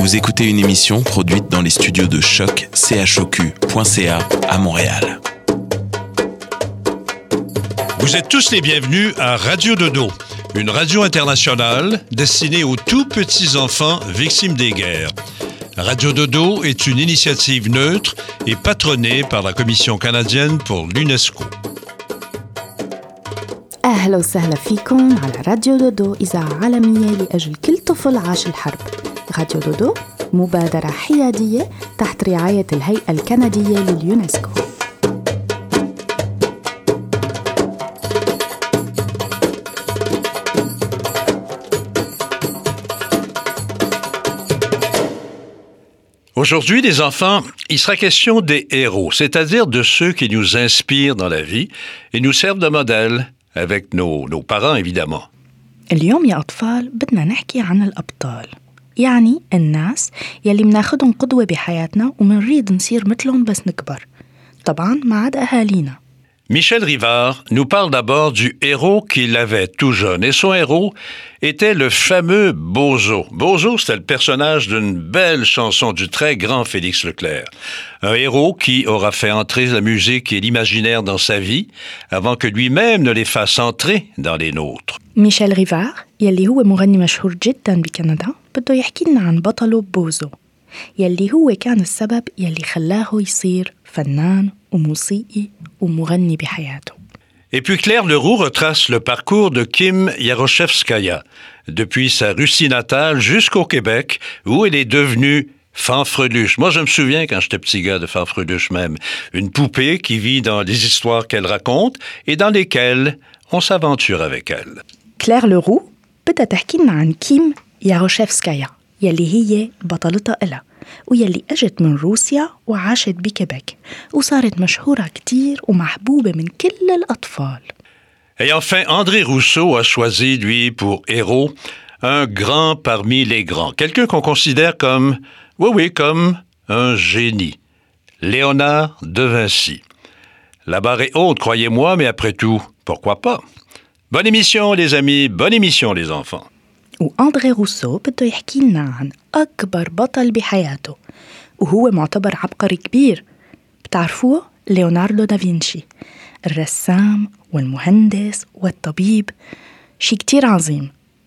Vous écoutez une émission produite dans les studios de Choc, choq.ca à Montréal. Vous êtes tous les bienvenus à Radio Dodo, une radio internationale destinée aux tout petits enfants victimes des guerres. Radio Dodo est une initiative neutre et patronnée par la Commission canadienne pour l'UNESCO. أهلا وسهلا فيكم على راديو دودو إذاعة عالمية لأجل كل طفل عاش الحرب. راديو دودو مبادرة حيادية تحت رعاية الهيئة الكندية لليونسكو. Aujourd'hui, les enfants, il sera question des héros, c'est-à-dire de ceux qui nous inspirent dans la vie et nous servent de modèle, avec nos parents évidemment. اليوم يا أطفال بدنا نحكي عن الأبطال، يعني الناس يلي مناخدهم قدوة بحياتنا ومنريد نصير مثلهم بس نكبر، طبعاً ما عدا أهالينا. Michel Rivard nous parle d'abord du héros qu'il avait tout jeune. Et son héros était le fameux Bozo. Bozo, c'était le personnage d'une belle chanson du très grand Félix Leclerc. Un héros qui aura fait entrer la musique et l'imaginaire dans sa vie avant que lui-même ne les fasse entrer dans les nôtres. ميشيل ريفار يلي هو مغني مشهور جداً بكندا بده يحكي لنا عن بطله بوزو يلي هو كان السبب يلي خلاه يصير فنان وموسيقي ومغني بحياته. Et puis Claire Leroux retrace le parcours de Kim Yaroshevskaya, depuis sa Russie natale jusqu'au Québec, où elle est devenue Fanfreluche. Moi, je me souviens quand j'étais petit gars de Fanfreluche même, une poupée qui vit dans les histoires qu'elle raconte et dans lesquelles on s'aventure avec elle. كلير لورو بدها تحكي لنا عن كيم ياروشيفسكايا يلي هي بطلتها إلها ويلي أجت من روسيا وعاشت بكيبيك وصارت مشهورة كتير ومحبوبة من كل الأطفال. Et enfin, André Rousseau a choisi, lui, pour héros, un grand parmi les grands. Quelqu'un qu'on considère comme, comme un génie. Léonard de Vinci. La barre est haute, croyez-moi, mais après tout, pourquoi pas? Bonne émission, les amis. Bonne émission, les enfants. وأندري روسو بده يحكي لنا عن أكبر بطل بحياته وهو معتبر عبقري كبير. بتعرفوه؟ ليوناردو دافنشي، الرسام والمهندس والطبيب، شي كتير عظيم.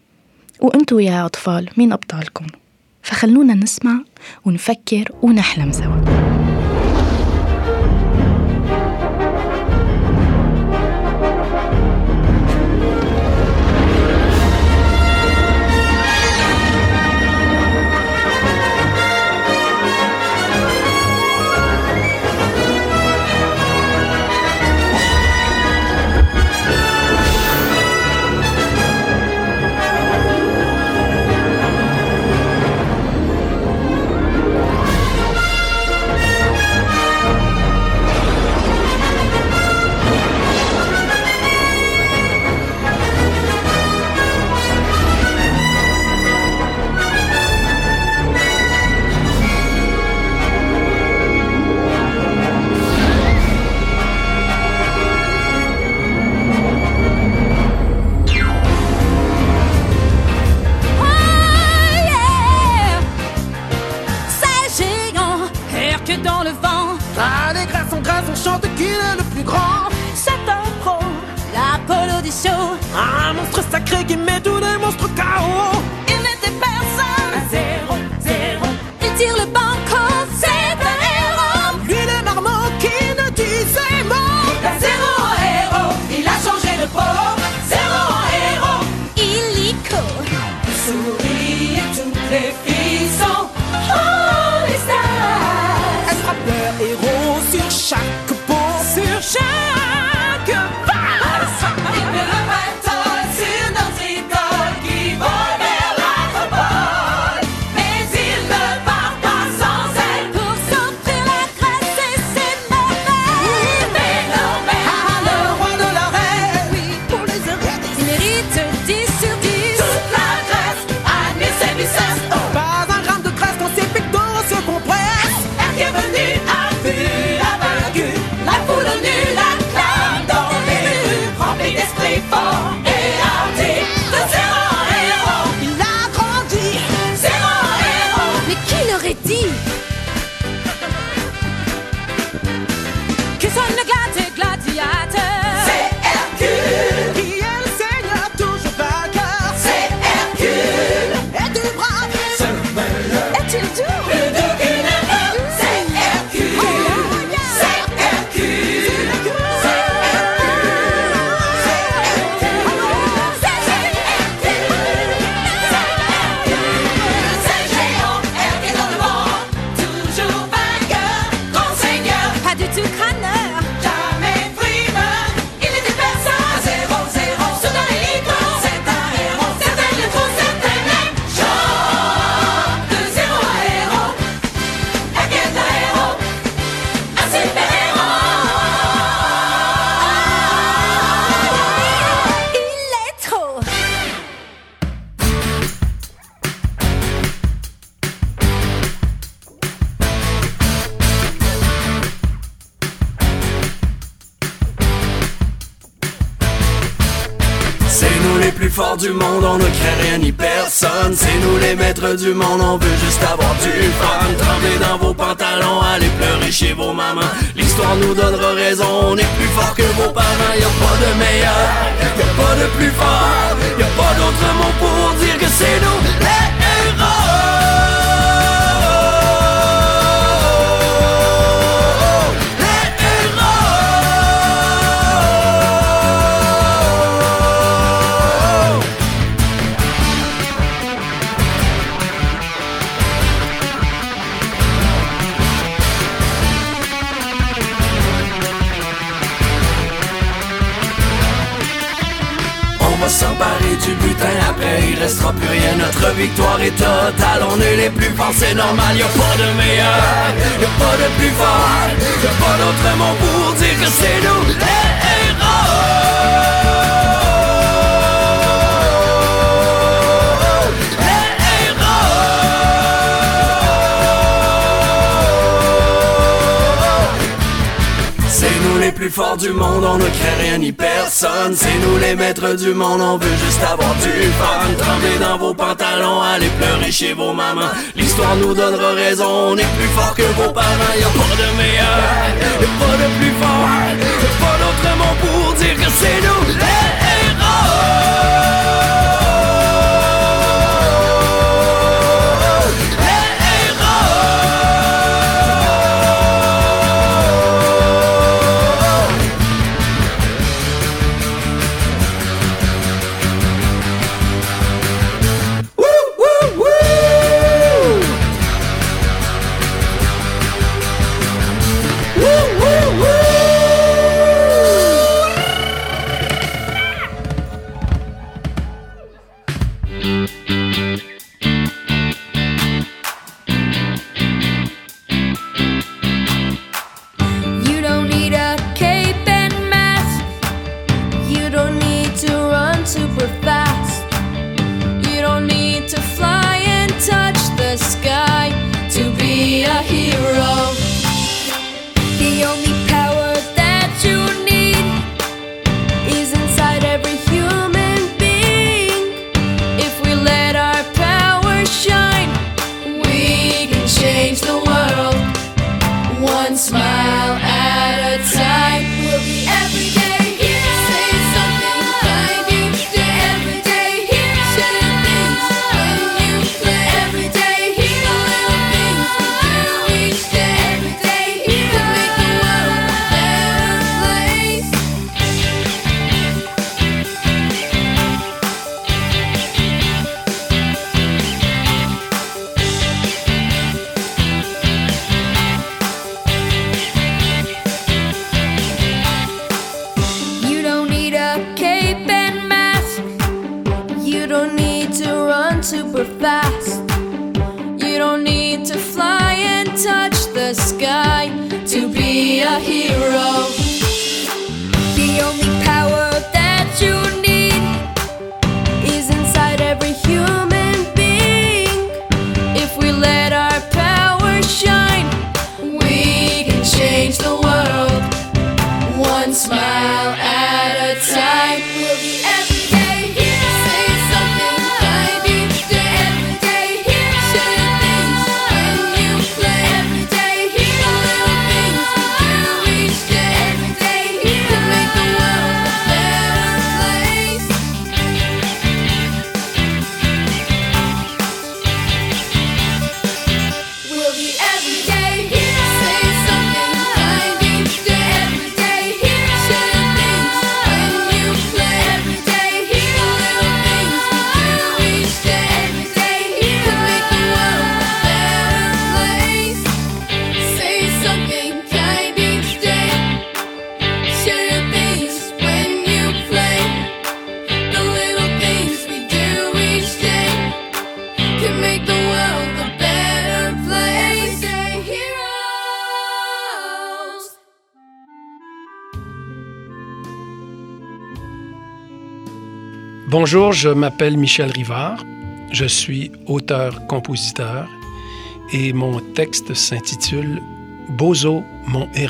وأنتوا يا أطفال مين أبطالكم؟ فخلونا نسمع ونفكر ونحلم سوا. Un monstre sacré qui met tous les monstres KO. Il n'était personne, un zéro, zéro. Il tire le banco, c'est un héros. Lui le marmot qui ne disait mot. D'un zéro en héros, il a changé de peau. Zéro en héros, illico. Il sourit et toutes les filles sont Holy Stars. Elle frappe leur héros sur chaque peau. Sur chaque face. Il met le bâton sur notre idole qui vole. les plus forts du monde, on ne craint rien ni personne. C'est nous les maîtres du monde, on veut juste avoir du fun. Tremblez dans vos pantalons, allez pleurer chez vos mamans. L'histoire nous donnera raison, on est plus fort que vos parents. Y'a pas de meilleur, y'a pas de plus fort, y'a pas d'autre mot pour dire que c'est nous les héros. S'emparer du butin, après il restera plus rien. Notre victoire est totale, on est les plus forts, c'est normal. Y'a pas de meilleur, y'a pas de plus fort, y'a pas d'autre mot pour dire que c'est nous les héros. Les héros. C'est nous les plus forts du monde, on ne craint rien ni personne. C'est nous les maîtres du monde, on veut juste avoir du fun. Tremblez dans vos pantalons, allez pleurer chez vos mamans. L'histoire nous donnera raison, on est plus fort que vos parents. Y'a pas de meilleur, y'a pas de plus fort, y'a pas d'autre mot pour dire que c'est nous les Bonjour, je m'appelle Michel Rivard, je suis auteur-compositeur et mon texte s'intitule « Bozo, mon héros ».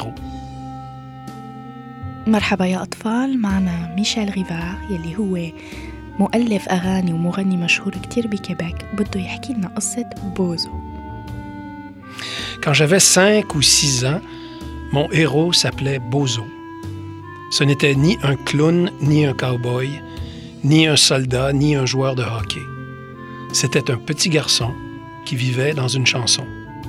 مرحبا يا أطفال، معنا ميشيل ريفار يلي هو مؤلف أغاني ومغني مشهور كتير بكيبيك بده يحكي لنا قصة بوزو. Quand j'avais 5 ou 6 ans, mon héros s'appelait Bozo. Ce n'était ni un clown, ni un cow-boy, ni un soldat, ni un joueur de hockey. C'était un petit garçon qui vivait dans une chanson.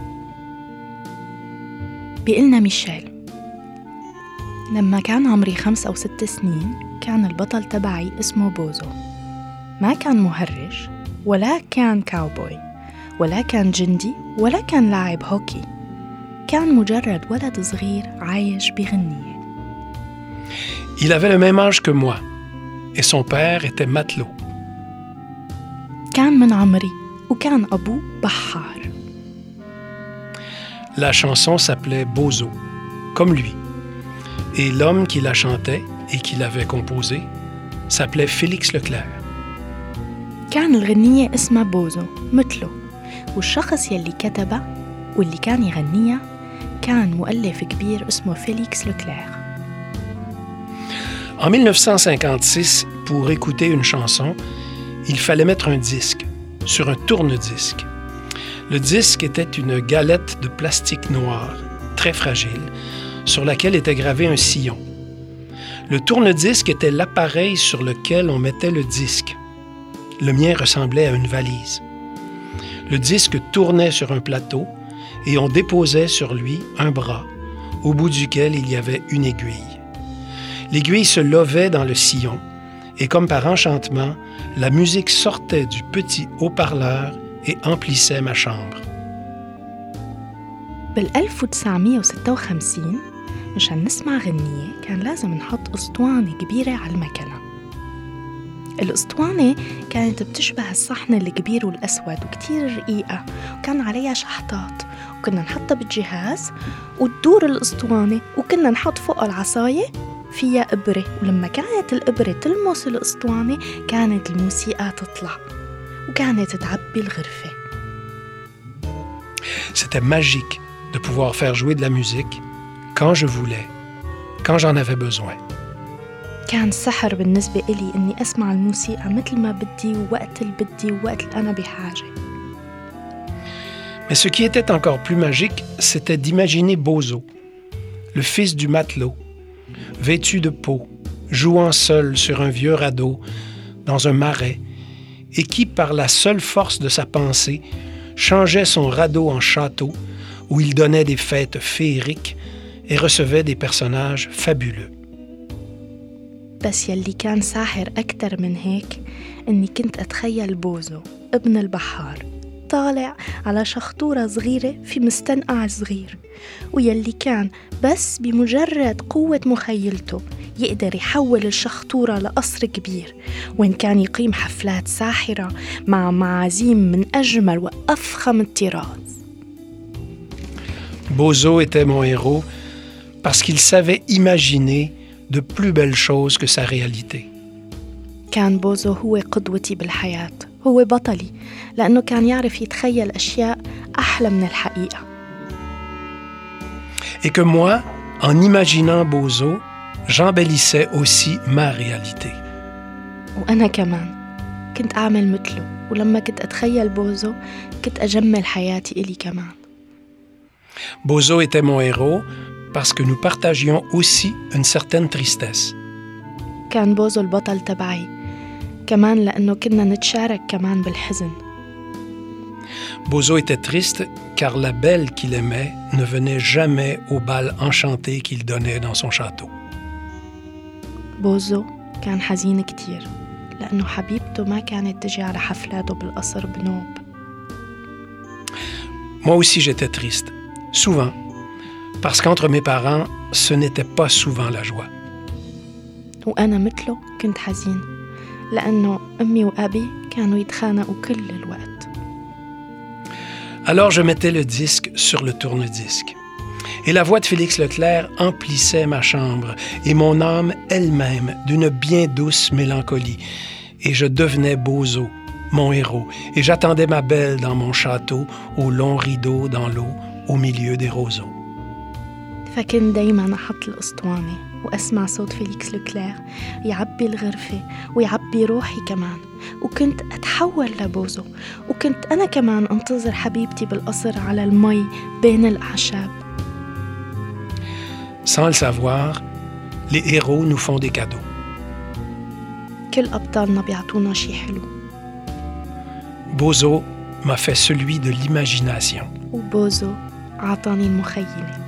بيقلنا ميشيل: لما كان عمري 5 أو 6 سنين كان البطل تبعي اسمه بوزو. ما كان مهرج ولا كان كاوبوي ولا كان جندي ولا كان لاعب هوكي. كان مجرد ولد صغير عايش بغنية. Il avait le même âge que moi et son père était matelot. كان من عمري وكان أبوه بحار. La chanson s'appelait Bozo, comme lui. Et l'homme qui la chantait et qui l'avait composée s'appelait Félix Leclerc. كان الغنية اسمها بوزو مثله، والشخص يلي كتبها واللي كان يغنيها كان مؤلف كبير اسمه فيليكس لوكلير. En 1956, pour écouter une chanson, il fallait mettre un disque sur un tourne-disque. Le disque était une galette de plastique noir, très fragile, sur laquelle était gravé un sillon. Le tourne-disque était l'appareil sur lequel on mettait le disque. Le mien ressemblait à une valise. Le disque tournait sur un plateau et on déposait sur lui un bras, au bout duquel il y avait une aiguille. L'aiguille se levait dans le sillon et comme par enchantement, la musique sortait du petit haut-parleur et emplissait ma chambre. بال 1956 مشان نسمع غنية كان لازم نحط أسطوانة كبيرة على المكنة. الأسطوانة كانت بتشبه الصحن الكبير والأسود وكتير رقيقة وكان عليها شحطات، وكنا نحطها بالجهاز وتدور الأسطوانة، وكنا نحط فوق العصاية فيها إبرة، ولما كانت الإبرة تلمس الأسطوانة كانت الموسيقى تطلع وكانت تعبي الغرفة. C'était magique de pouvoir faire jouer de la musique quand je voulais, quand j'en avais besoin. كان سحر بالنسبة إلي إني أسمع الموسيقى مثل ما بدي ووقت اللي بدي ووقت اللي أنا بحاجة. Mais ce qui était encore plus magique, c'était d'imaginer Bozo, le fils du matelot, vêtu de peau, jouant seul sur un vieux radeau dans un marais, et qui, par la seule force de sa pensée, changeait son radeau en château où il donnait des fêtes féeriques et recevait des personnages fabuleux. بس يلي كان ساحر أكتر من هيك إني كنت أتخيل بوزو ابن البحار طالع على شخطورة صغيرة في مستنقع صغير، ويلي كان بس بمجرد قوة مخيلته يقدر يحول الشخطورة لقصر كبير وين كان يقيم حفلات ساحرة مع معازيم من أجمل وأفخم الطراز. Bozo était mon héros parce qu'il savait imaginer de plus belles choses que sa réalité. كان بوزو هو قدوتي بالحياة، هو بطلي، لأنه كان يعرف يتخيل أشياء أحلى من الحقيقة. Et que moi, en imaginant Bozo, j'embellissais aussi ma réalité. وأنا كمان كنت أعمل مثله، ولما كنت أتخيل بوزو كنت أجمل حياتي إلي كمان. Bozo était mon héros parce que nous partagions aussi une certaine tristesse. كان بوزو البطل تبعي كمان لأنه كنا نتشارك كمان بالحزن. Bozo était triste car la belle qu'il aimait ne venait jamais au bal enchanté qu'il donnait dans son château. بوزو كان حزين كتير لأنه حبيبته ما كانت تجي على حفلاته بالقصر بنوب. Moi aussi j'étais triste, souvent, parce qu'entre mes parents, ce n'était pas souvent la joie. وأنا مثله كنت حزين لأنه أمي وأبي كانوا يتخانقوا كل الوقت. Alors je mettais le disque sur le tourne-disque. Et la voix de Félix Leclerc emplissait ma chambre et mon âme elle-même d'une bien douce mélancolie. Et je devenais Bozo, mon héros, et j'attendais ma belle dans mon château, au long rideau dans l'eau, au milieu des roseaux. فكنت دايما أحط الأسطوانة وأسمع صوت فيليكس لوكلير يعبي الغرفة ويعبي روحي كمان، وكنت أتحول لبوزو، وكنت أنا كمان أنتظر حبيبتي بالقصر على المي بين الأعشاب. Sans le savoir, les héros nous font des cadeaux. كل أبطالنا بيعطونا شي حلو. Bozo m'a fait celui de l'imagination. وبوزو عطاني المخيلة.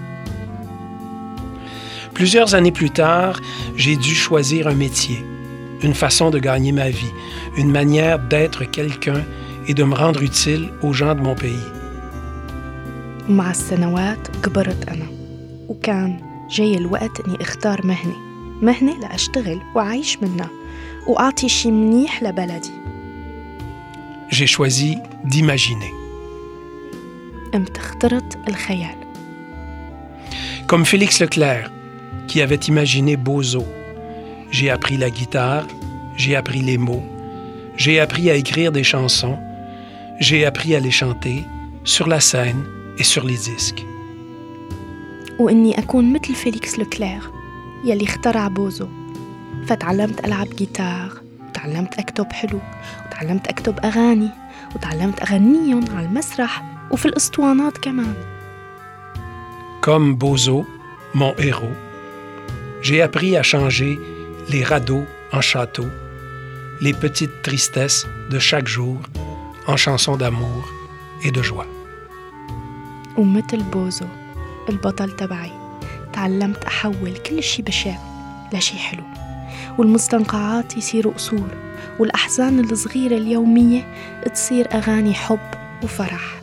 Plusieurs années plus tard, j'ai dû choisir un métier, une façon de gagner ma vie, une manière d'être quelqu'un et de me rendre utile aux gens de mon pays. ومع السنوات كبرت أنا، وكان جاي الوقت إني اختار مهنة لأشتغل وأعيش منها وأعطي شي منيح لبلدي. J'ai choisi d'imaginer. قمت اخترت الخيال. Comme Félix Leclerc, qui avait imaginé Bozo, j'ai appris la guitare, j'ai appris les mots, j'ai appris à écrire des chansons, j'ai appris à les chanter sur la scène et sur les disques. وإني أكون مثل فيليكس لوكلير يلي اخترع بوزو، فتعلمت ألعب جيتار، وتعلمت أكتب حلو، وتعلمت أكتب أغاني، وتعلمت أغنيهم على المسرح وفي الأسطوانات كمان. Comme Bozo, mon héros, j'ai appris à changer les radeaux en châteaux, les petites tristesses de chaque jour en chansons d'amour et de joie. ومثل بوزو البطل تبعي تعلمت أحول كل شي بشع لشي حلو، والمستنقعات يصيروا قصور، والأحزان الصغيرة اليومية تصير أغاني حب وفرح.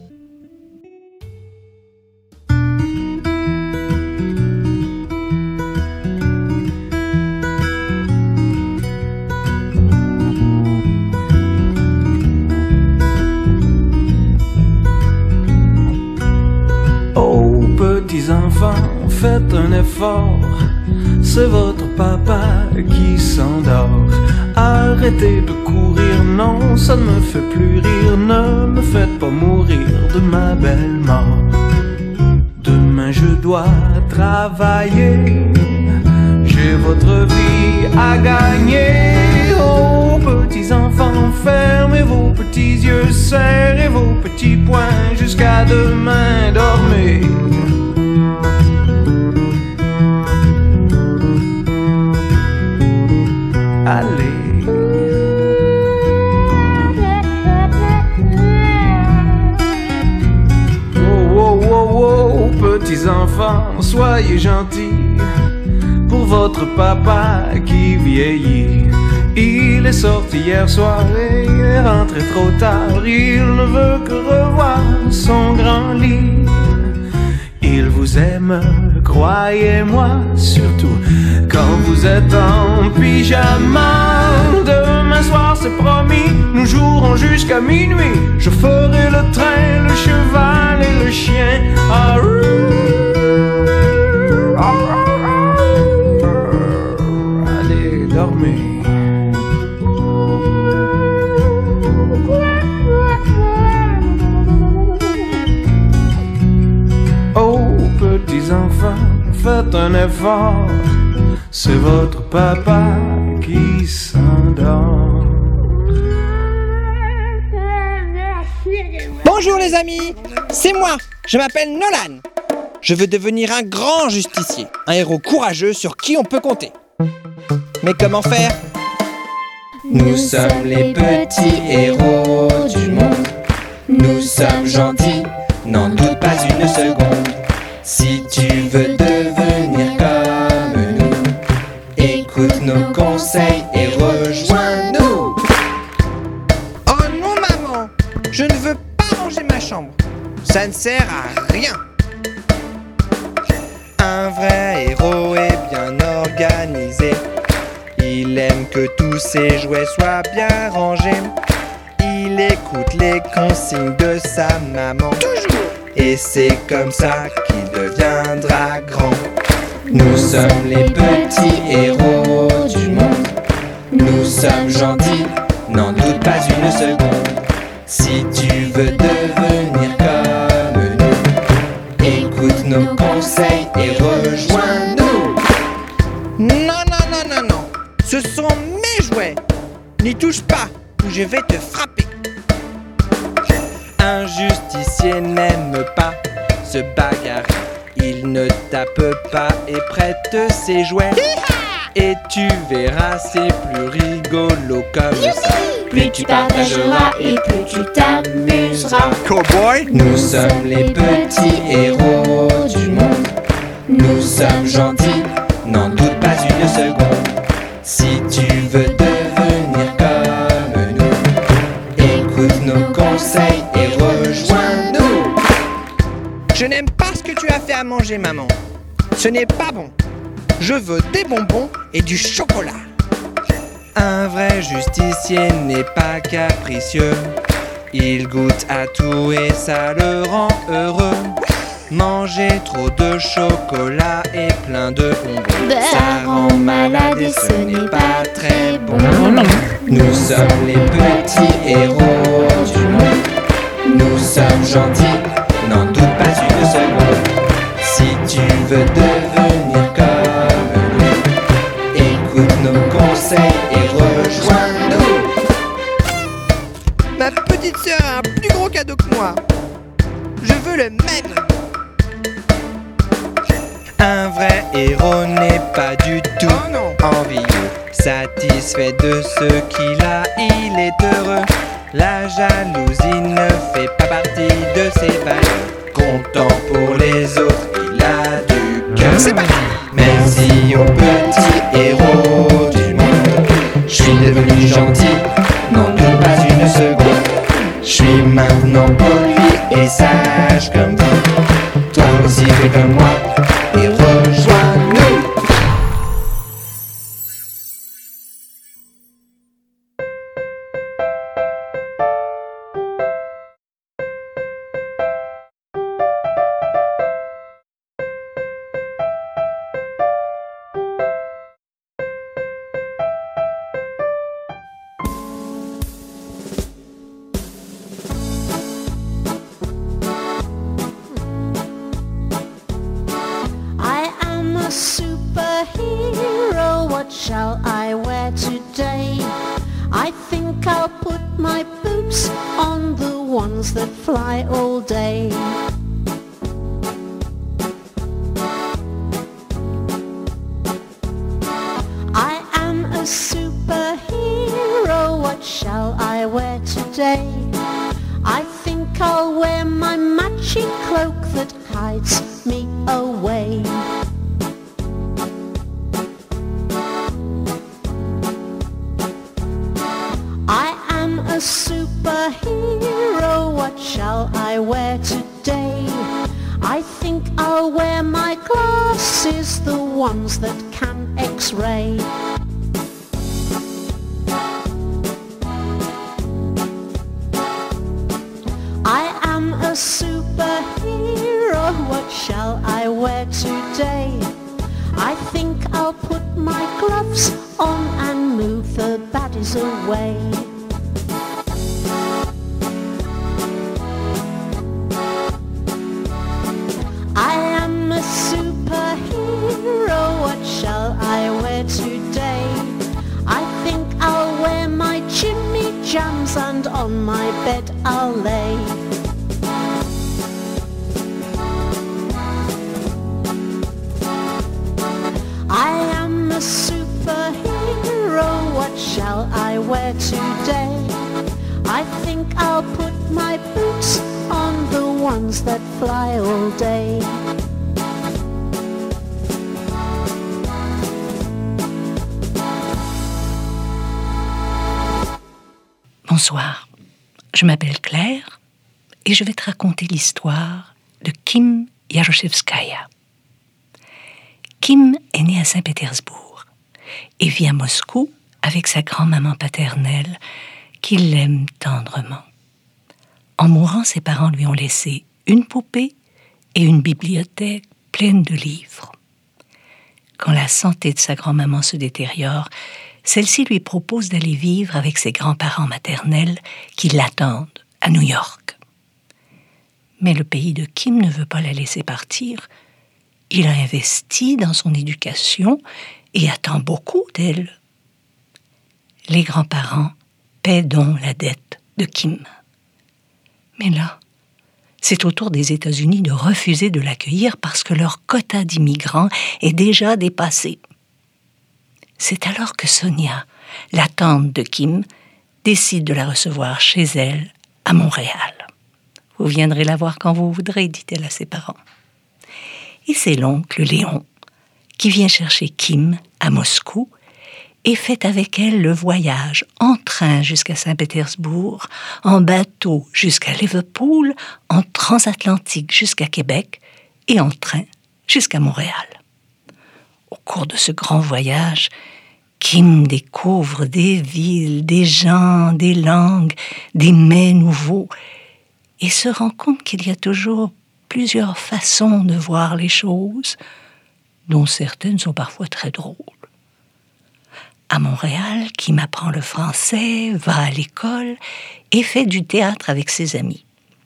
Enfants, faites un effort, c'est votre papa qui s'endort. Arrêtez de courir, non, ça ne me fait plus rire. Ne me faites pas mourir de ma belle mort. Demain je dois travailler, j'ai votre vie à gagner. Oh, petits enfants, fermez vos petits yeux, serrez vos petits poings, jusqu'à demain, dormez. Allez. Oh, oh, oh, oh, petits enfants, soyez gentils pour votre papa qui vieillit. Il est sorti hier soir et il est rentré trop tard. Il ne veut que revoir son grand lit. Il vous aime, croyez-moi, surtout quand vous êtes en pyjama. Demain soir, c'est promis, nous jouerons jusqu'à minuit. Je ferai le train, le cheval et le chien. Allez, dormez. Petits enfants, faites un effort, c'est votre papa qui s'endort. Bonjour les amis, c'est moi, je m'appelle Nolan. Je veux devenir un grand justicier, un héros courageux sur qui on peut compter. Mais comment faire ? Nous sommes les petits héros du monde. Nous sommes gentils, n'en doute pas une seconde. Si tu veux devenir comme nous, écoute nos conseils et rejoins-nous. Oh non maman, je ne veux pas ranger ma chambre. Ça ne sert à rien. Un vrai héros est bien organisé. Il aime que tous ses jouets soient bien rangés. Il écoute les consignes de sa maman. Toujours. Et c'est comme ça qu'il deviendra grand. Nous sommes les petits héros du monde. Nous sommes gentils, n'en doute pas une seconde. Si tu veux devenir comme nous, écoute nos conseils et rejoins-nous. N'y touche pas ou je vais te frapper. Un justicier n'aime pas se bagarrer. Il ne tape pas et prête ses jouets. Et tu verras, c'est plus rigolo comme ça. Plus tu partageras et plus tu t'amuseras. Cowboy, nous sommes les petits héros du monde. Nous sommes gentils, n'en doute pas une seconde. Si tu veux devenir comme nous, écoute nos conseils et rejoins-nous. Je n'aime pas ce que tu as fait à manger, maman. Ce n'est pas bon. Je veux des bonbons et du chocolat. Un vrai justicier n'est pas capricieux. Il goûte à tout et ça le rend heureux. Manger trop de chocolat et plein de bonbons, ça rend malade et ce n'est pas très bon. Nous sommes les petits héros du monde. Nous sommes gentils, n'en doute pas une seconde. Si tu veux devenir comme nous, écoute nos conseils et rejoins-nous. Ma petite sœur a un plus gros cadeau que moi. Je veux le même. Un vrai héros n'est pas du tout envieux. Satisfait de ce qu'il a, il est heureux. La jalousie ne fait pas partie de ses valeurs. Content pour les autres, il a du cœur. C'est parti. Merci aux petits héros du monde. Je suis devenu gentil, n'en doute pas une seconde. Je suis maintenant poli et sage comme vous. Toi aussi fais comme moi et rejoins-nous. Superhero, what shall I wear today? I think I'll put my boots on, the ones that fly all day. I am a superhero, what shall I wear today? I think I'll wear my matching cloak that hides me away. A superhero, what shall I wear today? I think I'll wear my glasses, the ones that can X-ray. I am a superhero, what shall I wear today? I think I'll put my gloves on and move the baddies away. What shall I wear today? I think I'll wear my Jimmy Jams and on my bed I'll lay. I am a superhero, what shall I wear today? I think I'll put my boots on, the ones that fly all day. Bonsoir, je m'appelle Claire et je vais te raconter l'histoire de Kim Yaroshevskaya. Kim est née à Saint-Pétersbourg et vit à Moscou avec sa grand-maman paternelle qui l'aime tendrement. En mourant, ses parents lui ont laissé une poupée et une bibliothèque pleine de livres. Quand la santé de sa grand-maman se détériore, celle-ci lui propose d'aller vivre avec ses grands-parents maternels qui l'attendent à New York. Mais le pays de Kim ne veut pas la laisser partir. Il a investi dans son éducation et attend beaucoup d'elle. Les grands-parents paient donc la dette de Kim. Mais là, c'est au tour des États-Unis de refuser de l'accueillir parce que leur quota d'immigrants est déjà dépassé. C'est alors que Sonia, la tante de Kim, décide de la recevoir chez elle, à Montréal. « Vous viendrez la voir quand vous voudrez », dit-elle à ses parents. Et c'est l'oncle Léon qui vient chercher Kim à Moscou et fait avec elle le voyage en train jusqu'à Saint-Pétersbourg, en bateau jusqu'à Liverpool, en transatlantique jusqu'à Québec et en train jusqu'à Montréal. Au cours de ce grand voyage, Kim découvre des villes, des gens, des langues, des mets nouveaux et se rend compte qu'il y a toujours plusieurs façons de voir les choses, dont certaines sont parfois très drôles. À Montréal, Kim apprend le français, va à l'école et fait du théâtre avec ses amis.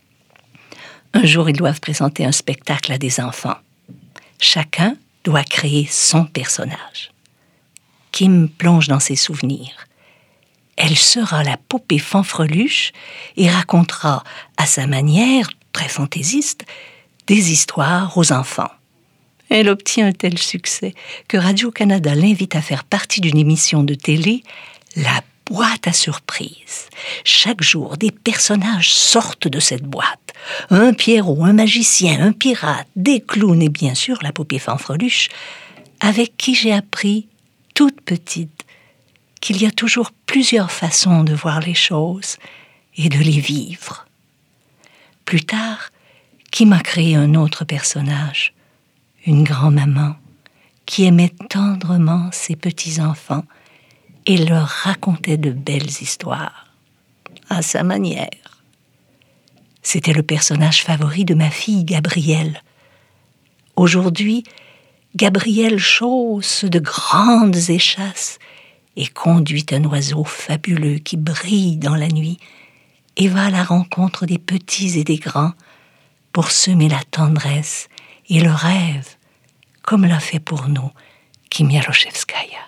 Un jour, ils doivent présenter un spectacle à des enfants. Chacun doit créer son personnage. Kim plonge dans ses souvenirs. Elle sera la poupée fanfreluche et racontera, à sa manière, très fantaisiste, des histoires aux enfants. Elle obtient un tel succès que Radio-Canada l'invite à faire partie d'une émission de télé, La boîte à surprise. Chaque jour, des personnages sortent de cette boîte. Un Pierrot, un magicien, un pirate, des clowns et bien sûr la poupée fanfreluche, avec qui j'ai appris, toute petite, qu'il y a toujours plusieurs façons de voir les choses et de les vivre. Plus tard, Kim a créé un autre personnage, une grand-maman qui aimait tendrement ses petits-enfants et leur racontait de belles histoires, à sa manière. C'était le personnage favori de ma fille Gabrielle. Aujourd'hui, Gabrielle chausse de grandes échasses et conduit un oiseau fabuleux qui brille dans la nuit et va à la rencontre des petits et des grands pour semer la tendresse et le rêve, comme l'a fait pour nous Kim Yaroshevskaya.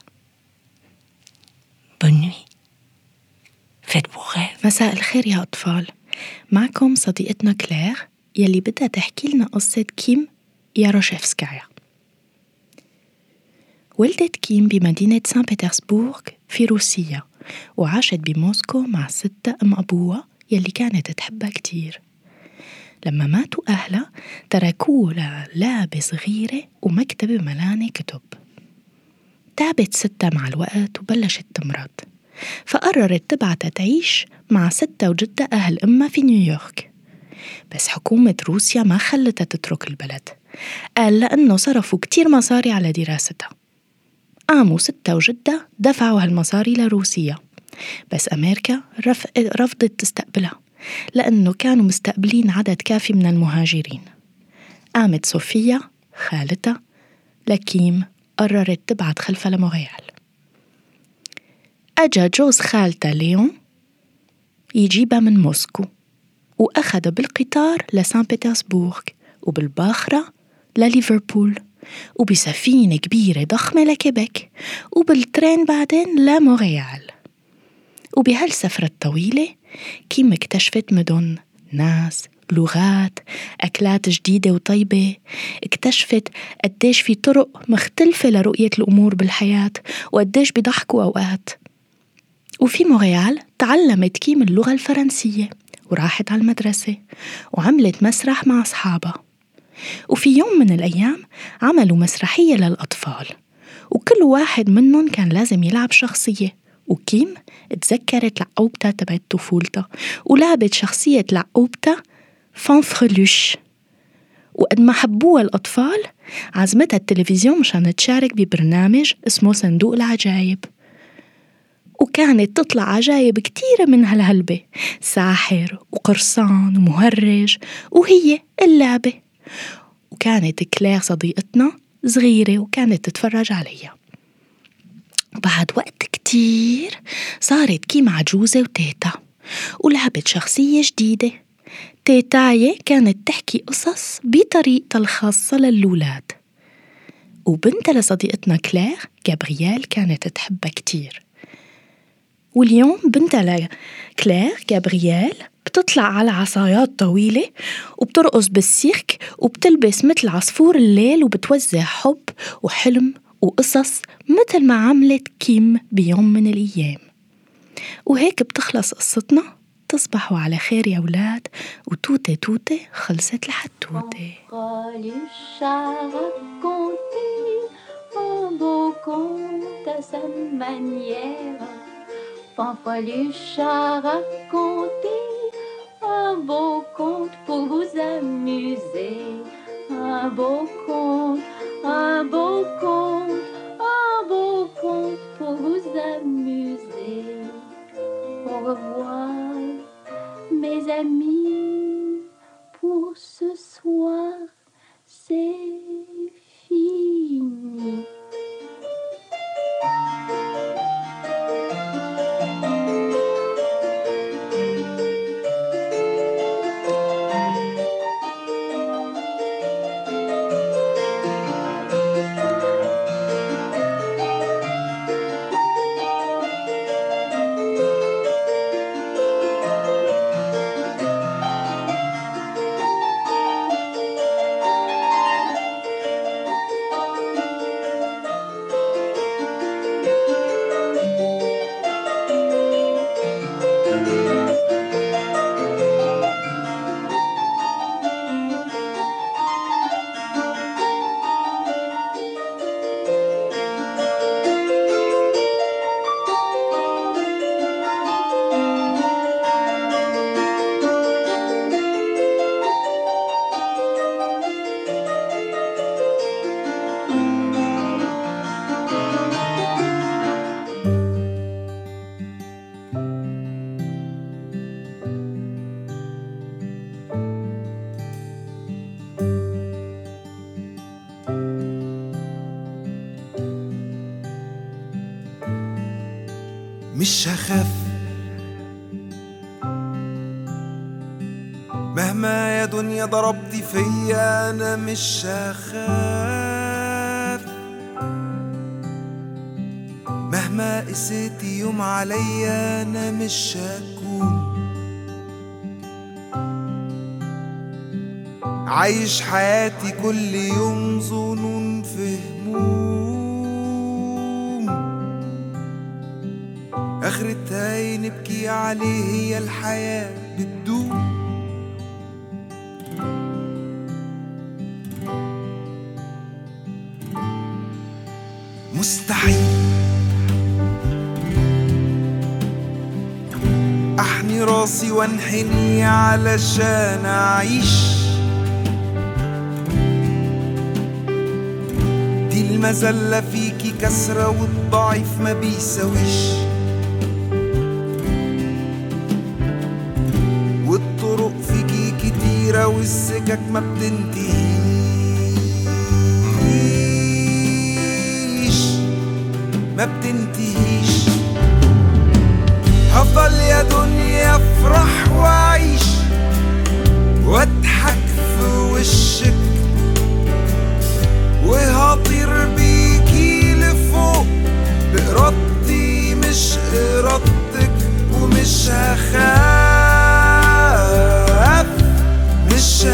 Bonne nuit. Faites vos rêves. مساء الخير يا أطفال. معكم صديقتنا كلير يلي بدها تحكي لنا قصة كيم ياروشيفسكايا. ولدت كيم بمدينة سان بطرسبورغ في روسيا وعاشت بموسكو مع ستها أم أبوها يلي كانت تحبها كتير. لما ماتوا أهلها تركوه للعبة صغيرة ومكتبة ملانة كتب. تعبت ستها مع الوقت وبلشت تمرض، فقررت تبعتها تعيش مع ستها وجدها أهل أمها في نيويورك. بس حكومة روسيا ما خلتها تترك البلد، قال لأنه صرفوا كتير مصاري على دراستها. قاموا ستها وجدها دفعوا هالمصاري لروسيا، بس أمريكا رفضت تستقبلها لأنه كانوا مستقبلين عدد كافي من المهاجرين. قامت صوفيا خالتها لكيم قررت تبعت خلفها لمونريال. أجا جوز خالتها ليون يجيبها من موسكو وأخذ بالقطار لسان بطرسبورغ وبالباخرة لليفربول وبسفينة كبيرة ضخمة لكيبك وبالترين بعدين لمونريال. وبهالسفرة الطويلة كيم اكتشفت مدن، ناس، لغات، أكلات جديدة وطيبة. اكتشفت قديش في طرق مختلفة لرؤية الأمور بالحياة وقديش بيضحكوا أوقات. وفي مونريال تعلمت كيم اللغة الفرنسية وراحت على المدرسة وعملت مسرح مع أصحابها. وفي يوم من الأيام عملوا مسرحية للأطفال وكل واحد منهم كان لازم يلعب شخصية. وكيم تذكرت لعقوبتها تبعت طفولتها ولعبت شخصية لعقوبتها فانفرلوش. وقد ما حبوها الأطفال عزمتها التلفزيون مشان تشارك ببرنامج اسمه صندوق العجائب، وكانت تطلع عجائب كتيرة من هالهلبة، ساحر وقرصان ومهرج وهي اللعبة. وكانت كلير صديقتنا صغيرة وكانت تتفرج عليها. وبعد وقت كتير صارت كيم عجوزة وتيتا ولعبت شخصية جديدة. تيتاية كانت تحكي قصص بطريقتها الخاصة للولاد، وبنتها لصديقتنا كلير جابرييل كانت تحبها كتير. واليوم بنتها كلير جابرييل بتطلع على عصايات طويلة وبترقص بالسيرك وبتلبس مثل عصفور الليل وبتوزع حب وحلم وقصص مثل ما عملت كيم بيوم من الأيام. وهيك بتخلص قصتنا. تصبحوا على خير يا أولاد، وتوتة توتة خلصت الحتوتة. Fanfreluche a raconté un beau conte pour vous amuser. Un beau conte, un beau conte, un beau conte pour vous amuser. Au revoir, mes amis, pour ce soir, c'est fini. مش هخاف مهما يا دنيا ضربتي فيا، انا مش هخاف مهما قسيتي يوم عليا، انا مش هكون عايش حياتي كل يوم ظنون في هموم، اخرتها نبكي عليه، هي الحياة بتدوم. مستحيل احني راسي وانحني علشان اعيش، دي المذلة فيكي كسرة والضعيف ما بيساويش، والطرق فيكي كتيرة والسكك ما بتنتهيش ما بتنتهيش. هفضل يا دنيا افرح واعيش واضحك في وشك، وهطير بيكي لفوق بإرادتي مش إرادتك، ومش هخاف مش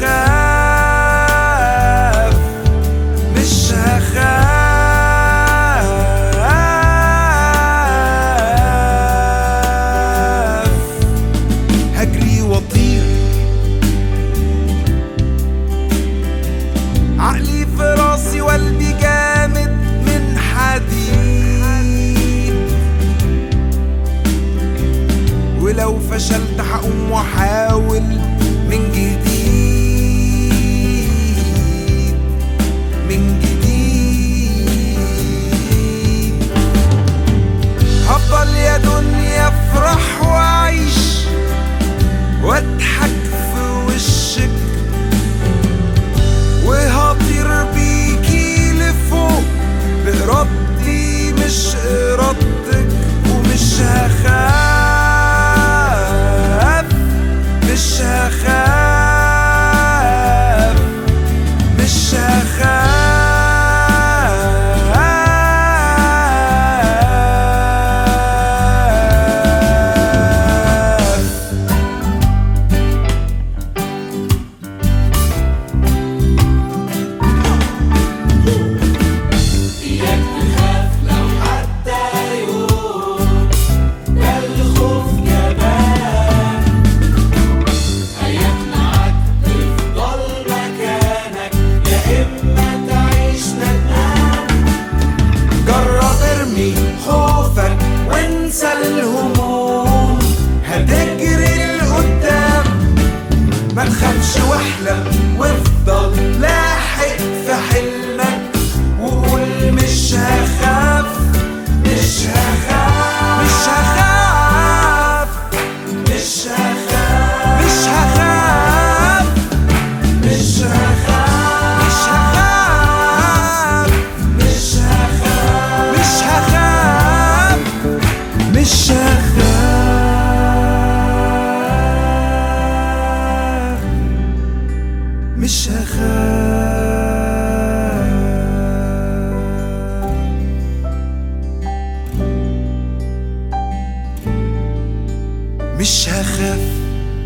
هخاف مش هخاف. هجري واطير عقلي في راسي وقلبي جامد من حديد، ولو فشلت هقوم واحاول من جديد من جديد. هفضل يا دنيا افرح واعيش واضحك في وشك، وهطير بيكي لفوق بإرادتي مش إرادتك، ومش هخاف مش هخاف مش هخاف. عيش واحلم وافضل لاحق في حلمك وقول مش هخاف مش هخاف مش هخاف مش هخاف مش هخاف مش هخاف مش هخاف مش هخاف مش هخاف مش هخاف مش هخاف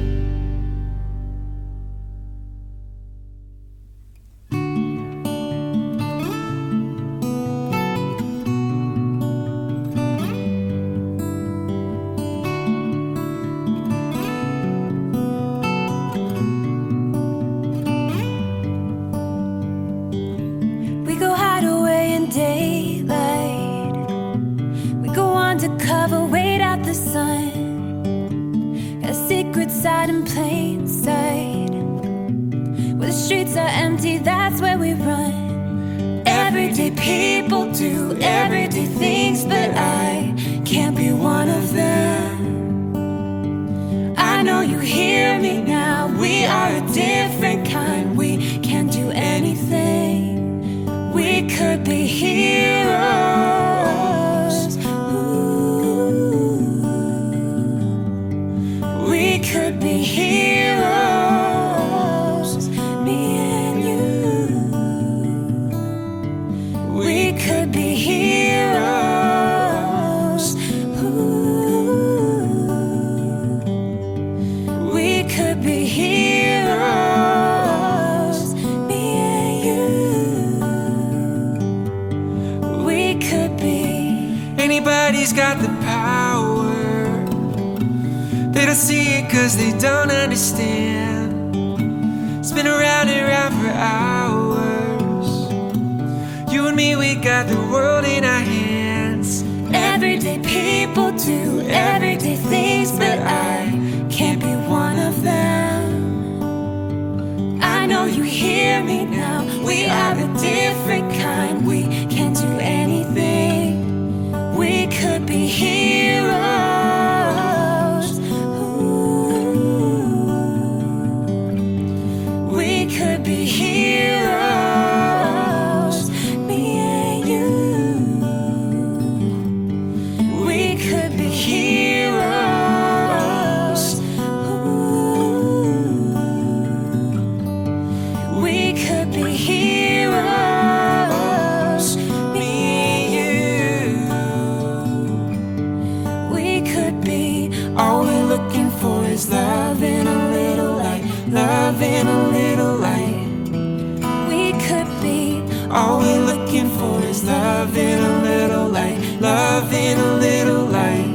We go hide away in daylight. We go undercover, wait out the sun. Got a secret side in plain sight. Where the streets are empty, that's where we run. Everyday people do everyday things, but I can't be one of them. I know you hear me now. We are a different kind. We can't do anything. We could be heroes. Ooh. We could be heroes. Me and you. We could be heroes. Ooh. We could be heroes. Me and you. We could be. Anybody's got the power. They don't see it cause they don't understand. Spin around and round for hours. You and me, we got the world in our hands. Everyday people do everyday things, but I can't be one of them. I know you hear me now. We are a different kind. We can't do anything. We could be heroes. Ooh. We could be heroes. Me and you. We could be heroes. Ooh. We could be heroes. Me and you. We could be. All we're looking for is love and a little light. Love and a little light. We could be. All we're looking for is love and a little light. Love and a little light.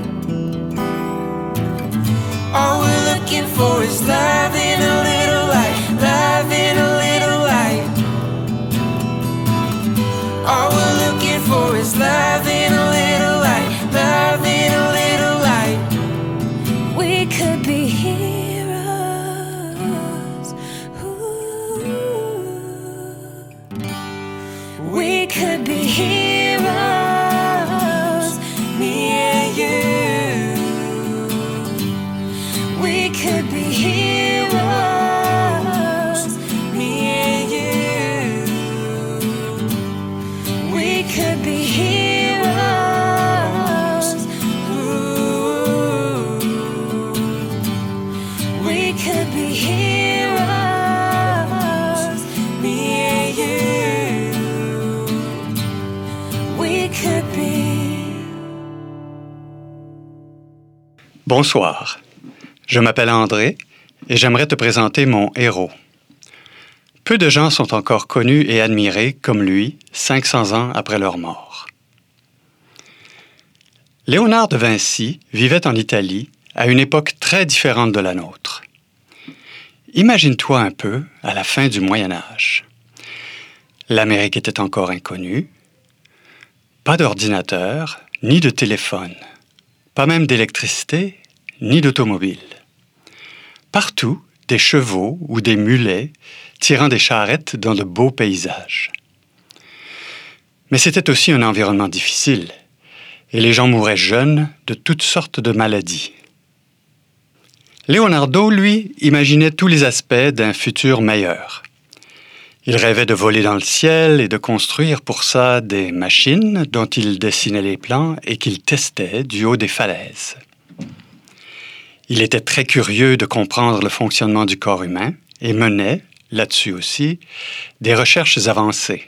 All we're looking for is love and a little light. Love and a little light. All we're looking for is love and a little light. Love and a little light. We could be heroes. Ooh. We could be heroes. Me and you. We could be heroes. Me and you. We could be heroes. Ooh. We could be heroes. Me and you. We could be. Bonsoir, je m'appelle André et j'aimerais te présenter mon héros. Peu de gens sont encore connus et admirés comme lui 500 ans après leur mort. Léonard de Vinci vivait en Italie à une époque très différente de la nôtre. Imagine-toi un peu à la fin du Moyen Âge. L'Amérique était encore inconnue, pas d'ordinateur ni de téléphone, pas même d'électricité ni d'automobile. Partout, des chevaux ou des mulets tirant des charrettes dans de beaux paysages. Mais c'était aussi un environnement difficile, et les gens mouraient jeunes de toutes sortes de maladies. Leonardo, lui, imaginait tous les aspects d'un futur meilleur. Il rêvait de voler dans le ciel et de construire pour ça des machines dont il dessinait les plans et qu'il testait du haut des falaises. Il était très curieux de comprendre le fonctionnement du corps humain et menait, là-dessus aussi, des recherches avancées.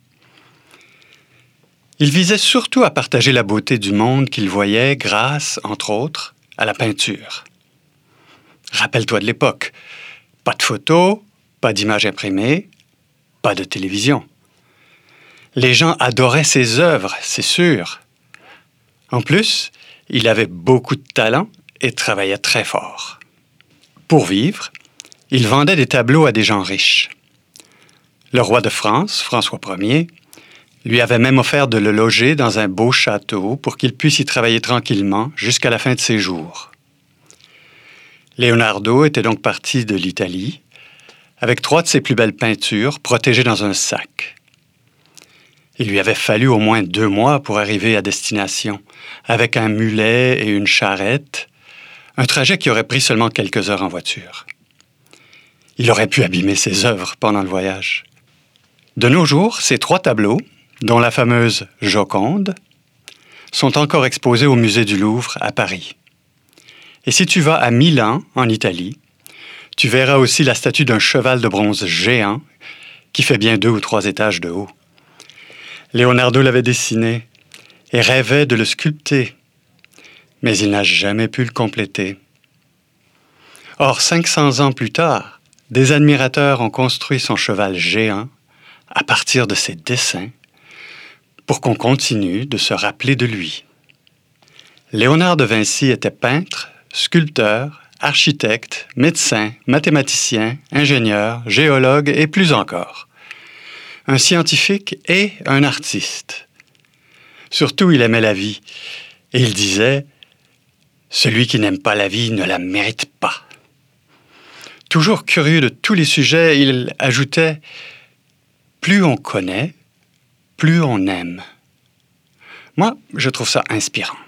Il visait surtout à partager la beauté du monde qu'il voyait grâce, entre autres, à la peinture. Rappelle-toi de l'époque. Pas de photos, pas d'images imprimées, pas de télévision. Les gens adoraient ses œuvres, c'est sûr. En plus, il avait beaucoup de talent et travaillait très fort. Pour vivre, il vendait des tableaux à des gens riches. Le roi de France, François Ier, lui avait même offert de le loger dans un beau château pour qu'il puisse y travailler tranquillement jusqu'à la fin de ses jours. Leonardo était donc parti de l'Italie avec 3 de ses plus belles peintures protégées dans un sac. Il lui avait fallu au moins 2 mois pour arriver à destination, avec un mulet et une charrette, un trajet qui aurait pris seulement quelques heures en voiture. Il aurait pu abîmer ses œuvres pendant le voyage. De nos jours, ces 3 tableaux, dont la fameuse Joconde, sont encore exposés au musée du Louvre à Paris. Et si tu vas à Milan, en Italie, tu verras aussi la statue d'un cheval de bronze géant qui fait bien 2 ou 3 étages de haut. Leonardo l'avait dessiné et rêvait de le sculpter, mais il n'a jamais pu le compléter. Or, 500 ans plus tard, des admirateurs ont construit son cheval géant à partir de ses dessins pour qu'on continue de se rappeler de lui. Léonard de Vinci était peintre, sculpteur, architecte, médecin, mathématicien, ingénieur, géologue et plus encore. Un scientifique et un artiste. Surtout, il aimait la vie. Et il disait « Celui qui n'aime pas la vie ne la mérite pas ». Toujours curieux de tous les sujets, il ajoutait « Plus on connaît, plus on aime ». Moi, je trouve ça inspirant.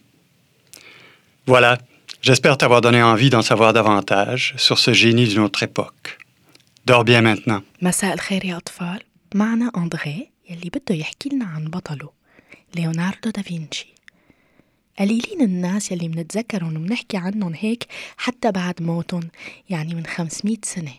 Voilà. J'espère t'avoir donné envie d'en savoir davantage sur ce génie d'une autre époque. Dors bien maintenant. مساء الخير يا أطفال. معنا أندري يلي بده يحكي لنا عن بطله ليوناردو دافنشي. قليلين الناس يلي منتذكرهم ومنحكي عنهم هيك حتى بعد موتهم، يعني من 500 سنة.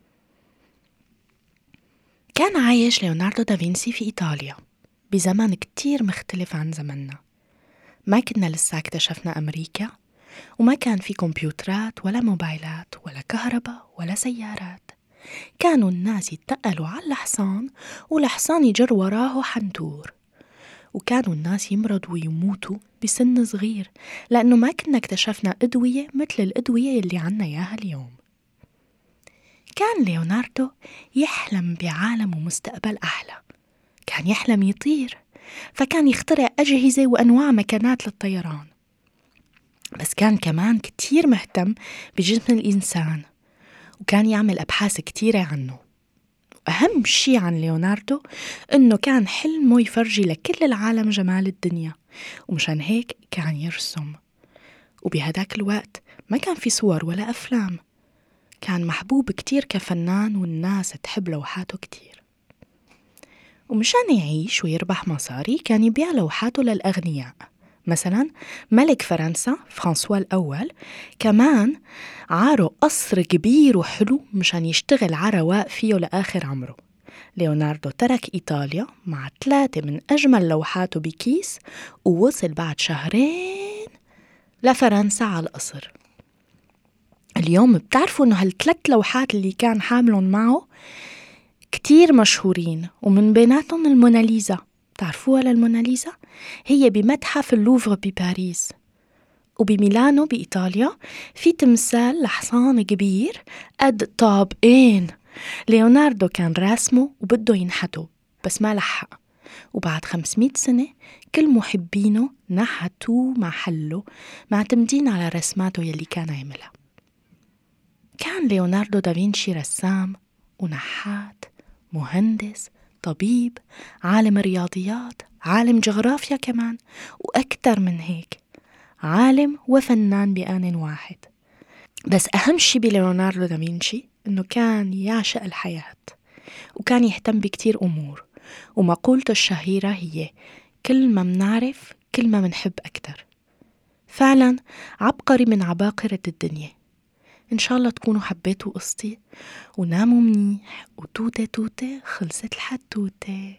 كان عايش ليوناردو دافنشي في إيطاليا بزمن كتير مختلف عن زمننا. ما كنا لسه اكتشفنا أمريكا، وما كان في كمبيوترات ولا موبايلات ولا كهرباء ولا سيارات. كانوا الناس يتقلوا على الحصان والحصان يجر وراه حنطور. وكانوا الناس يمرضوا ويموتوا بسن صغير لأنه ما كنا اكتشفنا أدوية مثل الأدوية اللي عنا إياها اليوم. كان ليوناردو يحلم بعالم ومستقبل أحلى. كان يحلم يطير، فكان يخترع أجهزة وأنواع مكانات للطيران. بس كان كمان كتير مهتم بجسم الإنسان، وكان يعمل أبحاث كتيرة عنه. وأهم شي عن ليوناردو إنه كان حلمه يفرجي لكل العالم جمال الدنيا، ومشان هيك كان يرسم. وبهداك الوقت ما كان في صور ولا أفلام. كان محبوب كتير كفنان والناس تحب لوحاته كتير. ومشان يعيش ويربح مصاري كان يبيع لوحاته للأغنياء. مثلا ملك فرنسا فرانسوا الأول كمان عاره قصر كبير وحلو مشان يشتغل عرواق فيه لآخر عمره. ليوناردو ترك إيطاليا مع 3 من أجمل لوحاته بكيس، ووصل بعد 2 شهر لفرنسا على القصر. اليوم بتعرفوا إنه هال3 لوحات اللي كان حاملهم معه كتير مشهورين، ومن بيناتهم الموناليزا. تعرفوها للموناليزا؟ هي بمتحف اللوفر بباريس. وبميلانو بإيطاليا في تمثال لحصان كبير قد طابقين. ليوناردو كان راسمه وبده ينحته بس ما لحق، وبعد 500 سنة كل محبينه نحتوه محله معتمدين على رسماته يلي كان عملها. كان ليوناردو دافنشي رسام ونحات، مهندس، طبيب، عالم رياضيات، عالم جغرافيا كمان، وأكثر من هيك، عالم وفنان بآن واحد. بس أهم شي بليوناردو دافنشي إنه كان يعشق الحياة، وكان يهتم بكتير أمور، ومقولته الشهيرة هي كل ما منعرف كل ما منحب أكتر. فعلا عبقري من عباقرة الدنيا. إن شاء الله تكونوا حبيتوا قصتي وناموا منيح، وتوتة توتة خلصت الحدوتة.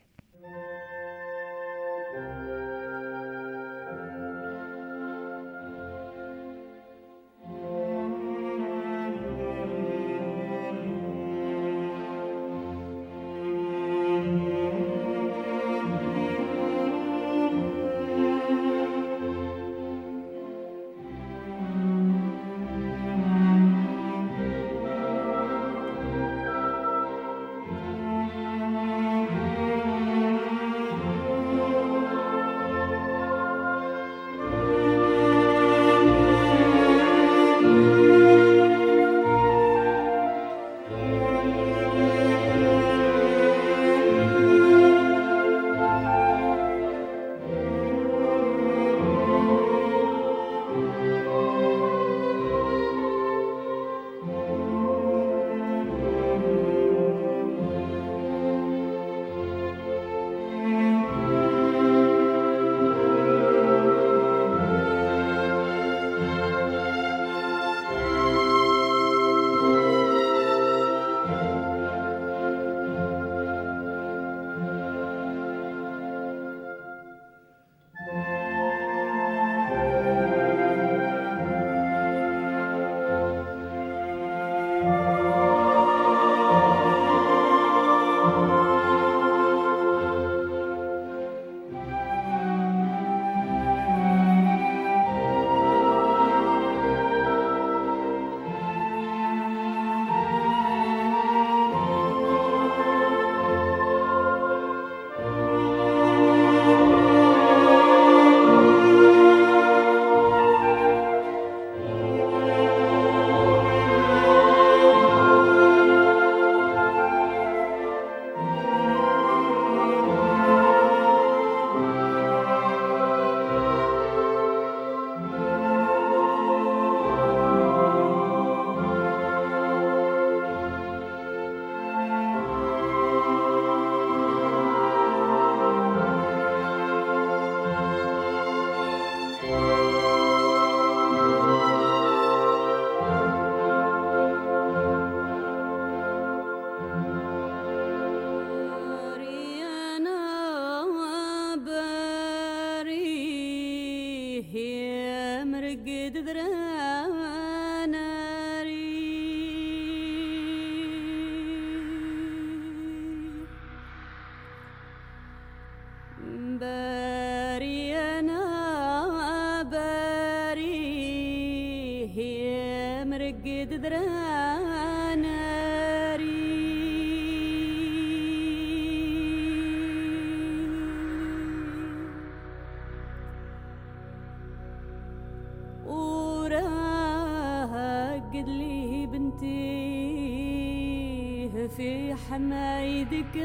في حمايدك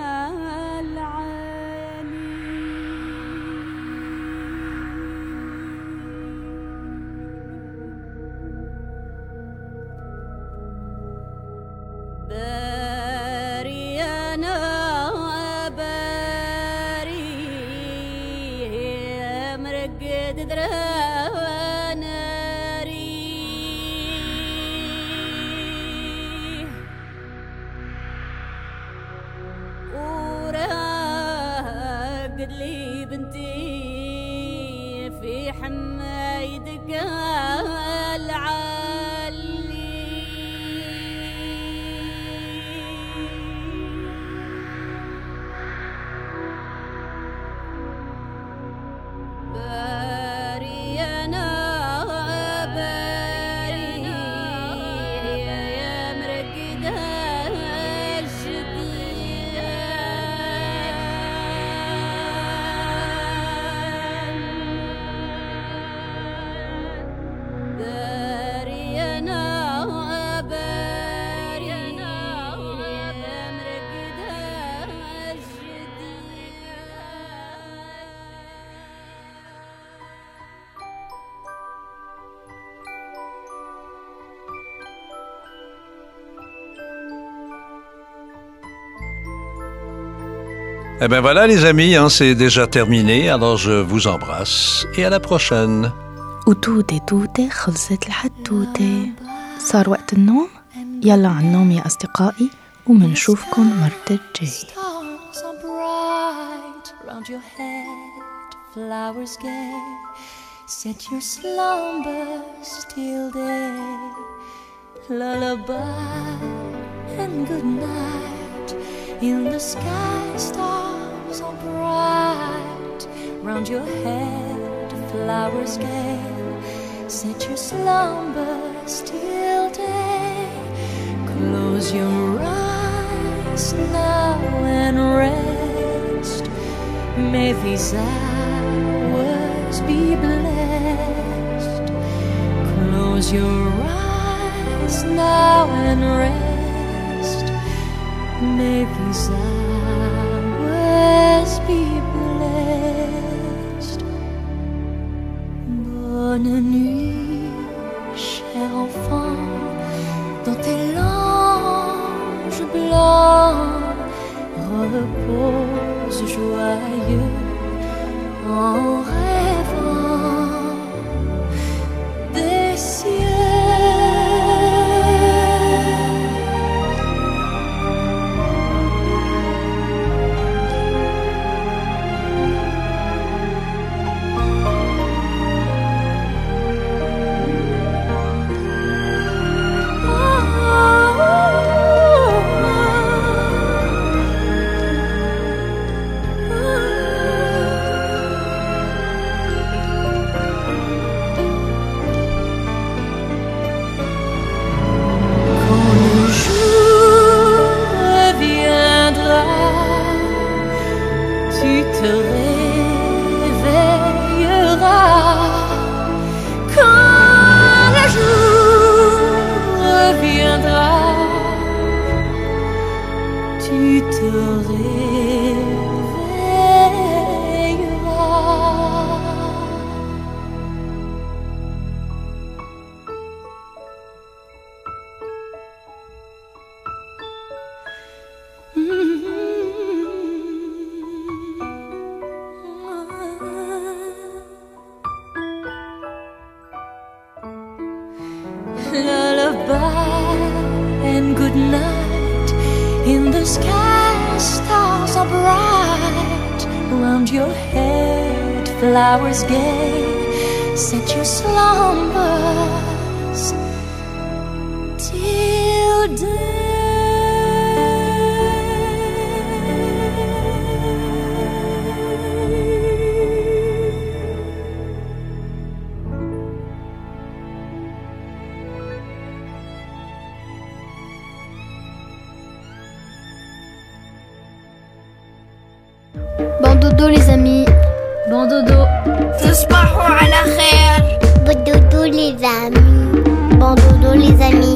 العالي باري أنا باري مرقد درانا ورا Eh bien voilà les amis, c'est déjà terminé, alors je vous embrasse et à la prochaine. وتوتة توتة خلصت الحتوتة. صار وقت النوم، يلا على النوم يا أصدقائي، ومنشوفكن مرة الجاي. Stars are bright round your head, flowers gay, set your slumbers till day. Lullaby and good night, in the sky stars are bright round your head, flowers gay, set your slumbers till day. Close your eyes now and rest. May these hours be blessed. Close your eyes now and rest. May these hours be blessed. Bonne nuit, cher enfant, dans tes langes blancs, repose joyeux en rêvant des cieux. Lullaby and good night, in the sky stars are bright around your head, flowers gay, set your slumbers till day. Bon dodo les amis. Bon dodo. تصبحوا على خير. Bon dodo les amis. Bon dodo les amis.